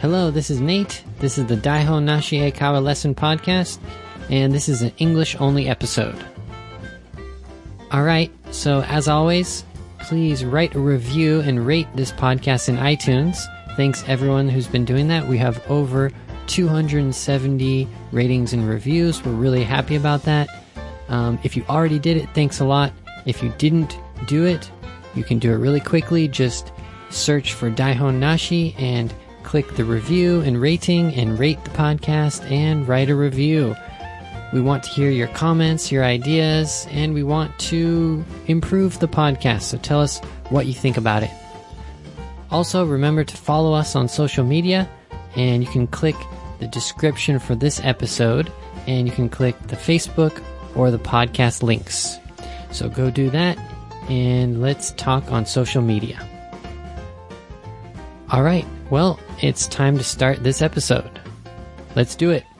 Hello, this is Nate. This is the Daihon Nashi Eikawa Lesson Podcast, and this is an English-only episode. Alright, so as always, please write a review and rate this podcast in iTunes. Thanks everyone who's been doing that. We have over 270 ratings and reviews. We're really happy about that. If you already did it, thanks a lot. If you didn't do it, you can do it really quickly. Just search for Daihon Nashi and click the review and rating and rate the podcast and write a review. We want to hear your comments, your ideas, and we want to improve the podcast. So tell us what you think about it. Also, remember to follow us on social media, and you can click the description for this episode, and you can click the Facebook or the podcast links. So go do that, and let's talk on social media. All right, well, it's time to start this episode. Let's do it.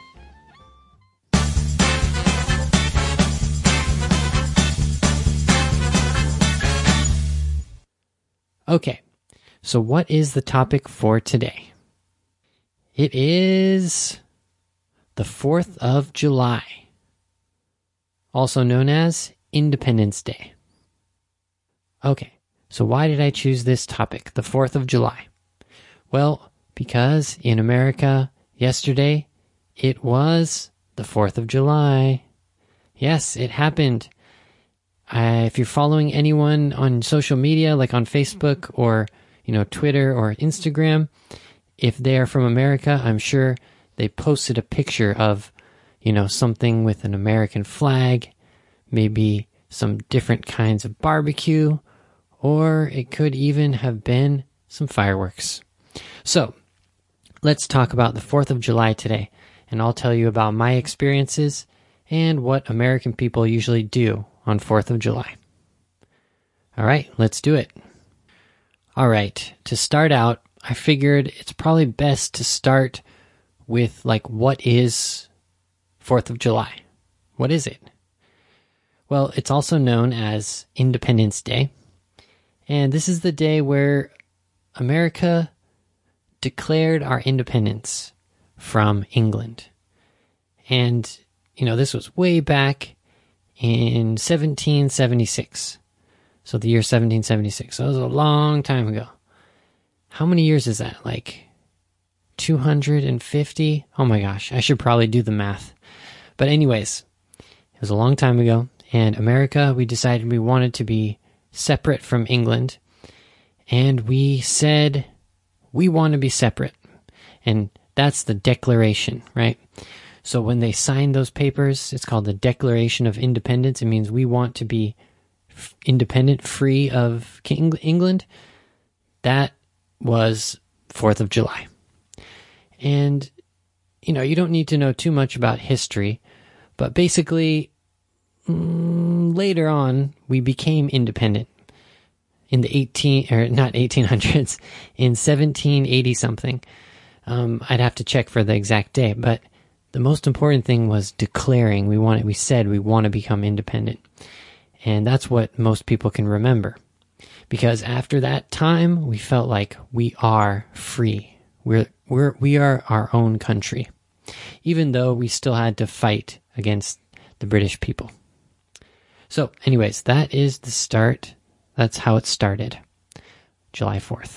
Okay, so what is the topic for today? It is the 4th of July, also known as Independence Day. Okay, so why did I choose this topic, the 4th of July? Well, because in America, yesterday, it was the 4th of July. Yes, it happened. If you're following anyone on social media, like on Facebook or, Twitter or Instagram, if they are from America, I'm sure they posted a picture of, something with an American flag, maybe some different kinds of barbecue, or it could even have been some fireworks. So, let's talk about the 4th of July today, and I'll tell you about my experiences and what American people usually do on 4th of July. All right, let's do it. All right, to start out, I figured it's probably best to start with, what is 4th of July? What is it? Well, it's also known as Independence Day, and this is the day where America declared our independence from England. And, this was way back in 1776. So the year 1776. So it was a long time ago. How many years is that? 250? Oh my gosh, I should probably do the math. But anyways, it was a long time ago, and America, we decided we wanted to be separate from England, and we said we want to be separate. And that's the Declaration, right? So when they signed those papers, it's called the Declaration of Independence. It means we want to be independent, free of England. That was 4th of July. And, you don't need to know too much about history, but basically, later on, we became independent in the 1800s, in 1780 something. I'd have to check for the exact day, but the most important thing was declaring. We said we want to become independent. And that's what most people can remember. Because after that time, we felt like we are free. We are our own country. Even though we still had to fight against the British people. So anyways, that is the start. That's how it started. July 4th.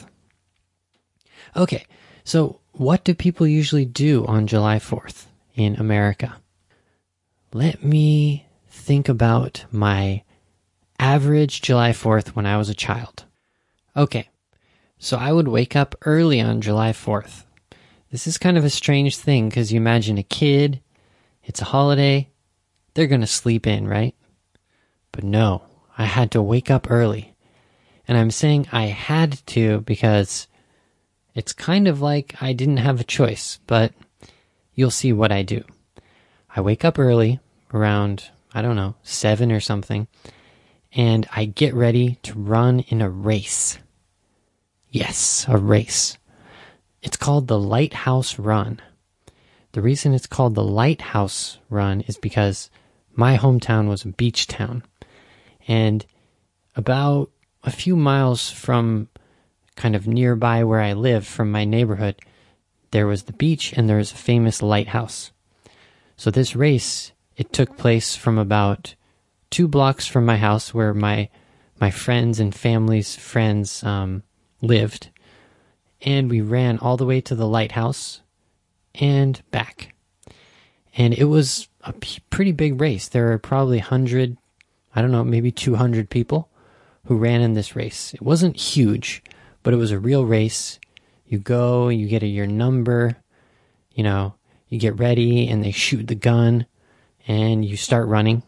Okay, so what do people usually do on July 4th in America? Let me think about my average July 4th when I was a child. Okay, so I would wake up early on July 4th. This is kind of a strange thing because you imagine a kid, it's a holiday, they're going to sleep in, right? But no, I had to wake up early. And I'm saying I had to because it's kind of like I didn't have a choice, but you'll see what I do. I wake up early, around, 7 or something, and I get ready to run in a race. Yes, a race. It's called the Lighthouse Run. The reason it's called the Lighthouse Run is because my hometown was a beach town. And about a few miles from kind of nearby where I live, from my neighborhood, there was the beach and there was a famous lighthouse. So this race, it took place from about 2 blocks from my house where my friends and family's friends lived. And we ran all the way to the lighthouse and back. And it was a pretty big race. There were probably 100, I don't know, maybe 200 people who ran in this race. It wasn't huge, but it was a real race. You go, you get your number, you get ready and they shoot the gun and you start running.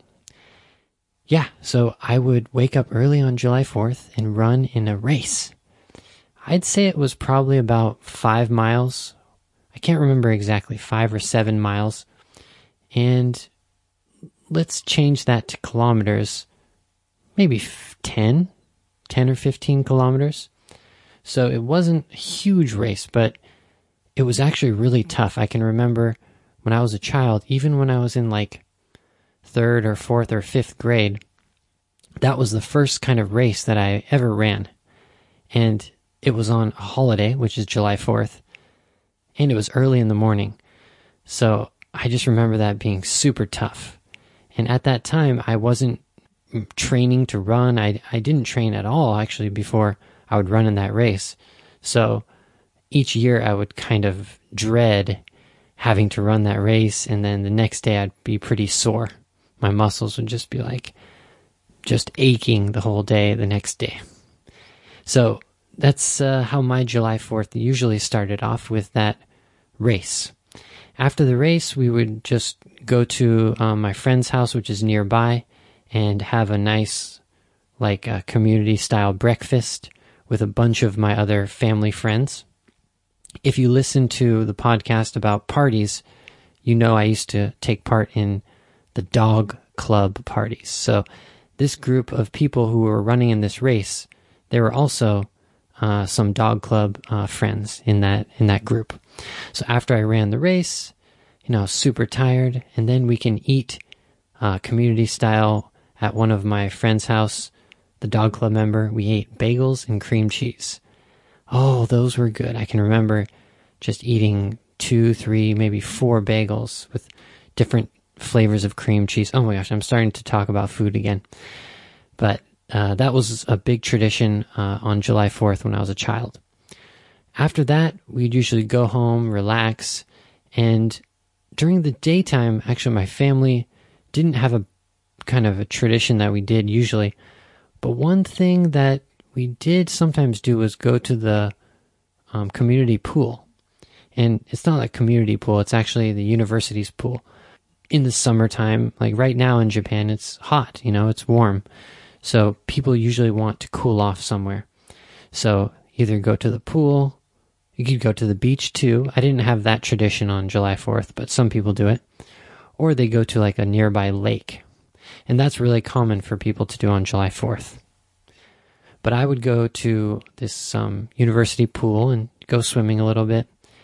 Yeah, so I would wake up early on July 4th and run in a race. I'd say it was probably about 5 miles. I can't remember exactly, 5 or 7 miles. And let's change that to kilometers, maybe 10 or 15 kilometers. So it wasn't a huge race, but it was actually really tough. I can remember when I was a child, even when I was in like 3rd or 4th or 5th grade, that was the first kind of race that I ever ran. And it was on a holiday, which is July 4th, and it was early in the morning. So I just remember that being super tough. And at that time, I wasn't training to run. I didn't train at all, actually, before I would run in that race. So each year I would kind of dread having to run that race, and then the next day I'd be pretty sore. My muscles would just be like, just aching the whole day the next day. So that's how my July 4th usually started off, with that race. After the race, we would just go to my friend's house, which is nearby, and have a nice, community-style breakfast with a bunch of my other family friends. If you listen to the podcast about parties, you know I used to take part in the dog club parties. So this group of people who were running in this race, there were also some dog club friends in that group. So after I ran the race, I was super tired, and then we can eat community style at one of my friend's house, the dog club member. We ate bagels and cream cheese. Oh, those were good. I can remember just eating 2, 3, maybe 4 bagels with different flavors of cream cheese. Oh my gosh, I'm starting to talk about food again. But that was a big tradition on July 4th when I was a child. After that, we'd usually go home, relax, and during the daytime, actually my family didn't have a kind of a tradition that we did usually, but one thing that we did sometimes do was go to the community pool. And it's not a community pool, it's actually the university's pool. In the summertime, like right now in Japan, it's hot, it's warm. So people usually want to cool off somewhere. So either go to the pool, you could go to the beach too. I didn't have that tradition on July 4th, but some people do it. Or they go to like a nearby lake. And that's really common for people to do on July 4th. But I would go to this university pool and go swimming a little bit.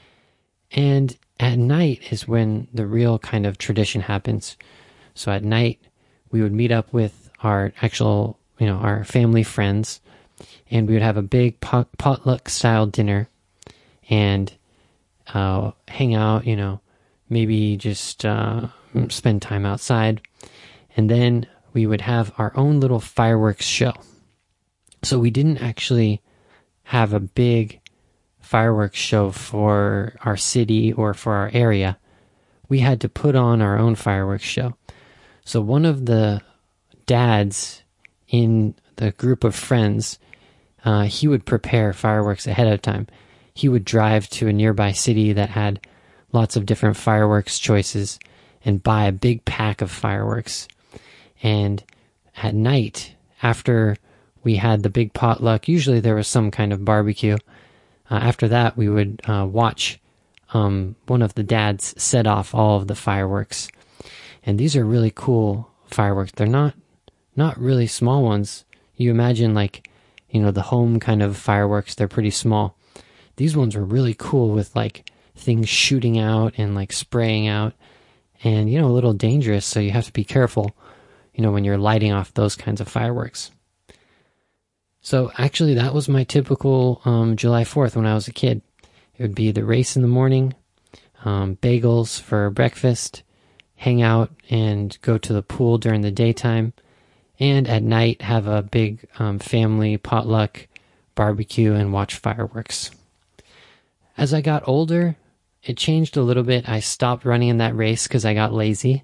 And at night is when the real kind of tradition happens. So at night, we would meet up with our actual, our family friends, and we would have a big potluck style dinner and hang out, maybe just spend time outside. And then we would have our own little fireworks show. So we didn't actually have a big fireworks show for our city or for our area. We had to put on our own fireworks show. So one of the dads in the group of friends, he would prepare fireworks ahead of time. He would drive to a nearby city that had lots of different fireworks choices and buy a big pack of fireworks. And at night, after we had the big potluck, usually there was some kind of barbecue. After that, we would watch one of the dads set off all of the fireworks. And these are really cool fireworks. They're not really small ones. You imagine the home kind of fireworks, they're pretty small. These ones were really cool with things shooting out and spraying out and, a little dangerous. So you have to be careful, when you're lighting off those kinds of fireworks. So actually that was my typical July 4th when I was a kid. It would be the race in the morning, bagels for breakfast, hang out and go to the pool during the daytime, and at night have a big family potluck barbecue and watch fireworks. As I got older, it changed a little bit. I stopped running in that race because I got lazy.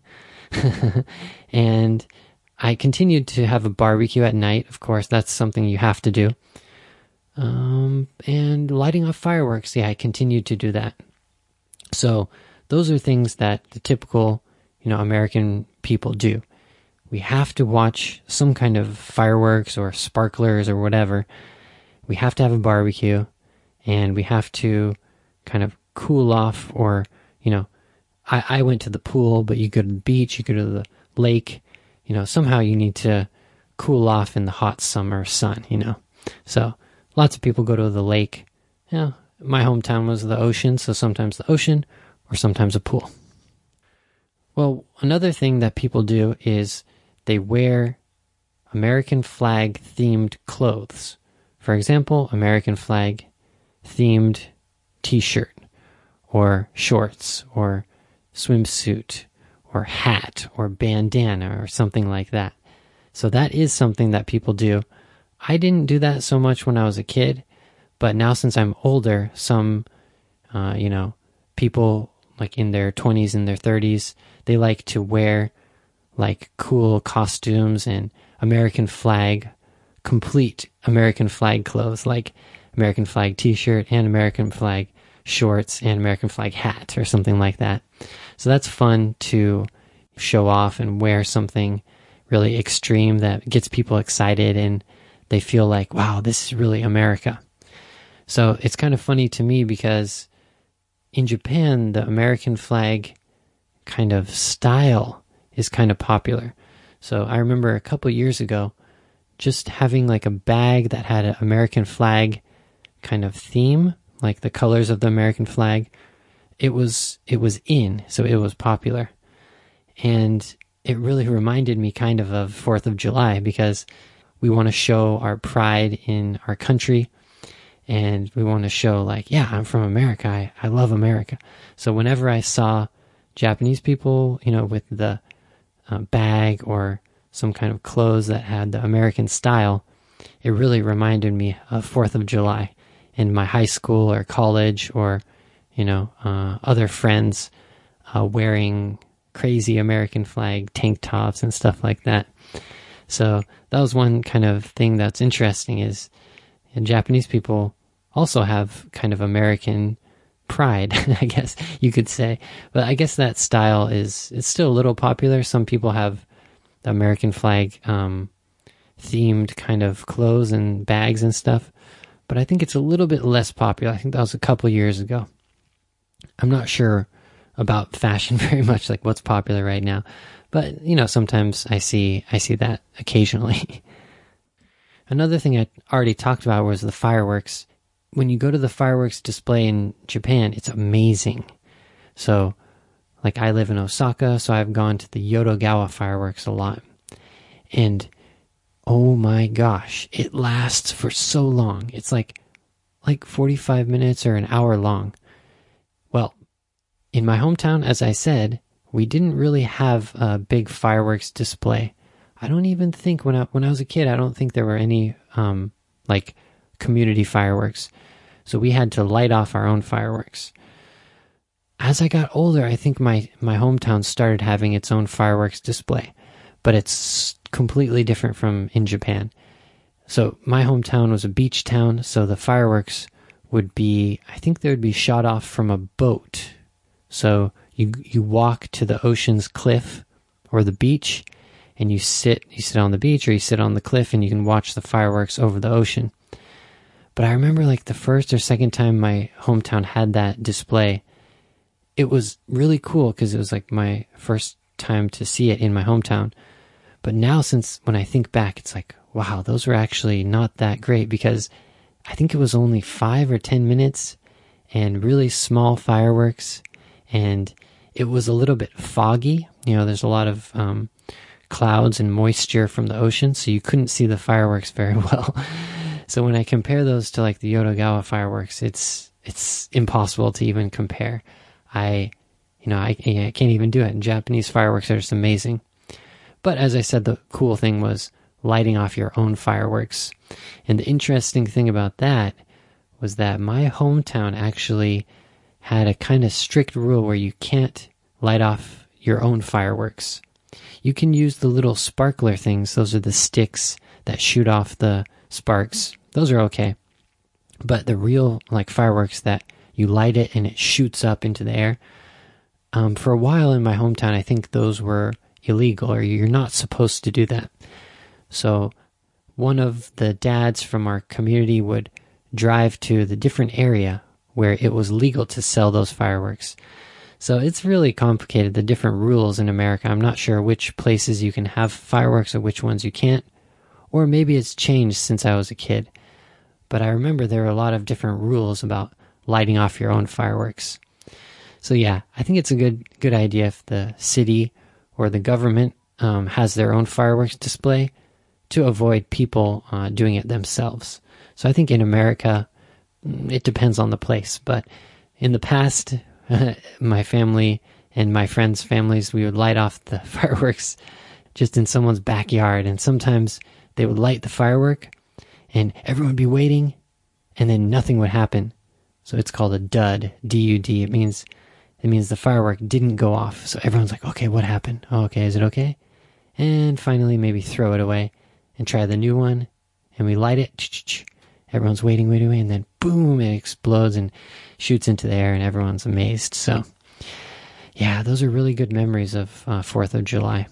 And I continued to have a barbecue at night. Of course, that's something you have to do. And lighting off fireworks, I continued to do that. So those are things that the typical, American people do. We have to watch some kind of fireworks or sparklers or whatever. We have to have a barbecue, and we have to kind of cool off, or, I went to the pool, but you go to the beach, you go to the lake, somehow you need to cool off in the hot summer sun, So lots of people go to the lake. My hometown was the ocean, so sometimes the ocean or sometimes a pool. Well, another thing that people do is they wear American flag themed clothes. For example, American flag themed t-shirt or shorts or swimsuit or hat or bandana or something like that. So that is something that people do. I didn't do that so much when I was a kid, but now since I'm older, some, people like in their 20s and their 30s, they like to wear like cool costumes and complete American flag clothes, like American flag t-shirt and American flag shorts and American flag hat or something like that. So that's fun to show off and wear something really extreme that gets people excited and they feel like, wow, this is really America. So it's kind of funny to me because in Japan, the American flag kind of style is kind of popular. So I remember a couple years ago just having like a bag that had an American flag kind of theme, like the colors of the American flag. It was in, so it was popular. And it really reminded me kind of 4th of July because we want to show our pride in our country. And we want to show like, yeah, I'm from America. I love America. So whenever I saw Japanese people, with the bag or some kind of clothes that had the American style, it really reminded me of 4th of July in my high school or college or, other friends wearing crazy American flag tank tops and stuff like that. So that was one kind of thing that's interesting is Japanese people also have kind of American pride, I guess you could say. But I guess that style it's still a little popular. Some people have the American flag themed kind of clothes and bags and stuff. But I think it's a little bit less popular. I think that was a couple years ago. I'm not sure about fashion very much, like what's popular right now. But, sometimes I see that occasionally. Another thing I already talked about was the fireworks. When you go to the fireworks display in Japan, it's amazing. So, like I live in Osaka, so I've gone to the Yodogawa fireworks a lot. And, oh my gosh, it lasts for so long. It's like 45 minutes or an hour long. Well, in my hometown, as I said, we didn't really have a big fireworks display. I don't even think when I was a kid, I don't think there were any community fireworks. So we had to light off our own fireworks. As I got older, I think my hometown started having its own fireworks display, but it's completely different from in Japan. So my hometown was a beach town, so the fireworks would be, I think they would be shot off from a boat. So you walk to the ocean's cliff or the beach, and you sit on the beach or you sit on the cliff and you can watch the fireworks over the ocean. But I remember like the first or second time my hometown had that display, it was really cool because it was like my first time to see it in my hometown. But now when I think back, it's like, wow, those were actually not that great because I think it was only 5 or 10 minutes and really small fireworks. And it was a little bit foggy. There's a lot of clouds and moisture from the ocean, so you couldn't see the fireworks very well. So when I compare those to like the Yodogawa fireworks, it's it's impossible to even compare. I can't even do it. And Japanese fireworks are just amazing. But as I said, the cool thing was lighting off your own fireworks. And the interesting thing about that was that my hometown actually had a kind of strict rule where you can't light off your own fireworks. You can use the little sparkler things. Those are the sticks that shoot off the sparks. Those are okay. But the real fireworks that you light it and it shoots up into the air, for a while in my hometown, I think those were illegal, or you're not supposed to do that. So one of the dads from our community would drive to the different area where it was legal to sell those fireworks. So it's really complicated, the different rules in America. I'm not sure which places you can have fireworks or which ones you can't. Or maybe it's changed since I was a kid. But I remember there are a lot of different rules about lighting off your own fireworks. So yeah, I think it's a good idea if the city or the government has their own fireworks display to avoid people doing it themselves. So I think in America, it depends on the place. But in the past, my family and my friends' families, we would light off the fireworks just in someone's backyard. And sometimes they would light the firework and everyone would be waiting and then nothing would happen. So it's called a dud, D-U-D. It means the firework didn't go off. So everyone's like, okay, what happened? Oh, okay, is it okay? And finally maybe throw it away and try the new one. And we light it. Everyone's waiting, and then boom, it explodes and shoots into the air and everyone's amazed. So yeah, those are really good memories of 4th of July.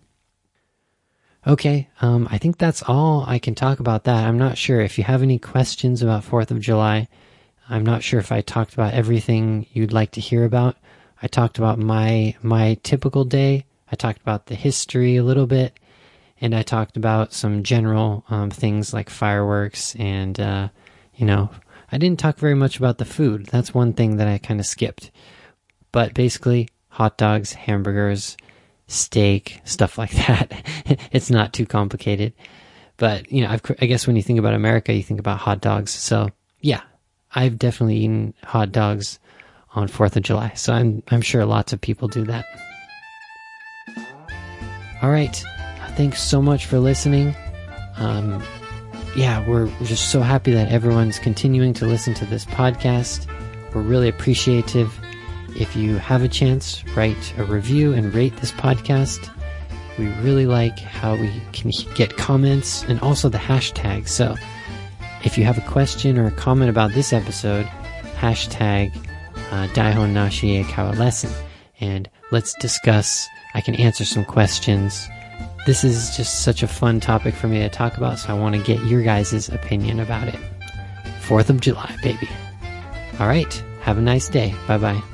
Okay, I think that's all I can talk about that. I'm not sure if you have any questions about 4th of July. I'm not sure if I talked about everything you'd like to hear about. I talked about my typical day. I talked about the history a little bit. And I talked about some general things like fireworks and, I didn't talk very much about the food. That's one thing that I kind of skipped. But basically, hot dogs, hamburgers, steak, stuff like that. It's not too complicated. But, I guess when you think about America, you think about hot dogs. So, yeah, I've definitely eaten hot dogs on 4th of July. So I'm sure lots of people do that. All right. Thanks so much for listening. We're just so happy that everyone's continuing to listen to this podcast. We're really appreciative. If you have a chance, write a review and rate this podcast. We really like how we can get comments and also the hashtag. So if you have a question or a comment about this episode, hashtag Daihon Nashie Kawa Lesson. And let's discuss. I can answer some questions. This is just such a fun topic for me to talk about, so I want to get your guys' opinion about it. 4th of July, baby. All right. Have a nice day. Bye-bye.